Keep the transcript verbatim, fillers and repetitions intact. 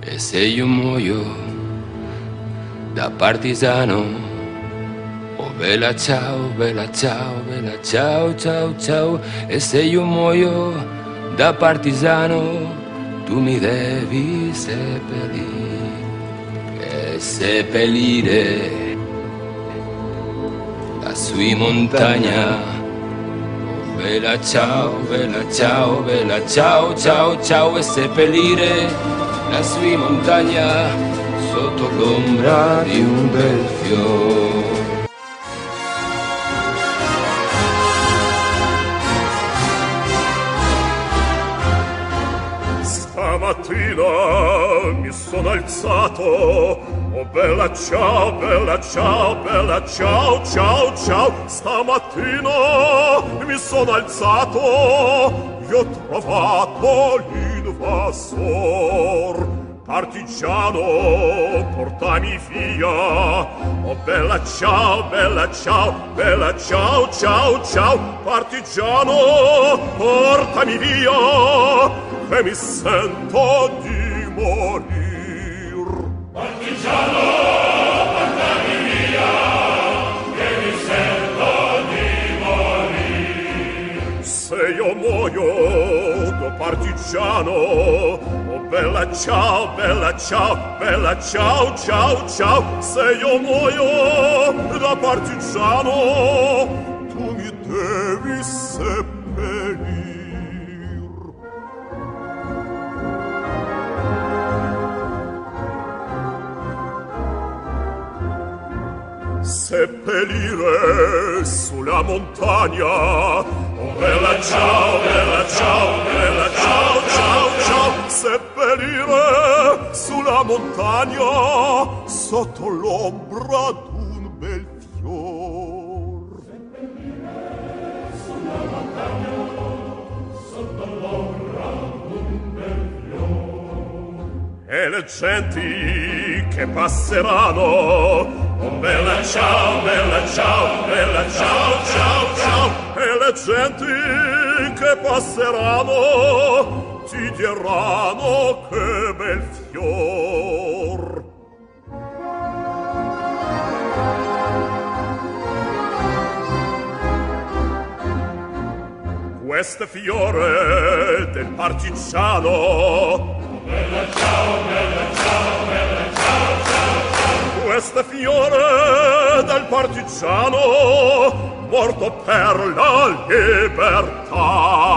E se io muoio da partigiano, oh bella ciao, bella ciao, bella ciao, ciao, ciao. E se io muoio da partigiano, tu mi devi seppellire, e seppellire lassù in montagna. Bella ciao, bella ciao, bella ciao, ciao, ciao. E seppellire lassù in montagna sotto l'ombra di un bel fiore. Stamattina mi sono alzato, oh bella ciao, bella ciao, bella ciao, ciao, ciao. Stamattina mi sono alzato e ho trovato l'invasor. Partigiano, portami via, oh bella ciao, bella ciao, bella ciao, ciao, ciao. Partigiano, portami via, e mi sento di morir. Partigiano, portami via, che mi sento di morir. Se io muoio da partigiano, oh bella ciao, bella ciao, bella ciao, ciao, ciao. Se io muoio da partigiano, tu mi devi seppellire. Seppellire sulla montagna, oh bella ciao, bella ciao, bella ciao, ciao, ciao. Seppellire sulla montagna sotto l'ombra d'un bel fior. Seppellire sulla montagna sotto l'ombra d'un bel fior. E le genti che passeranno, oh bella ciao, bella ciao, bella ciao, ciao, ciao. E le genti che passeranno ti diranno che bel fior. Questo fiore del partigiano, oh bella ciao, bella ciao, bella ciao, ciao, ciao. Questo fiore del partigiano morto per la libertà.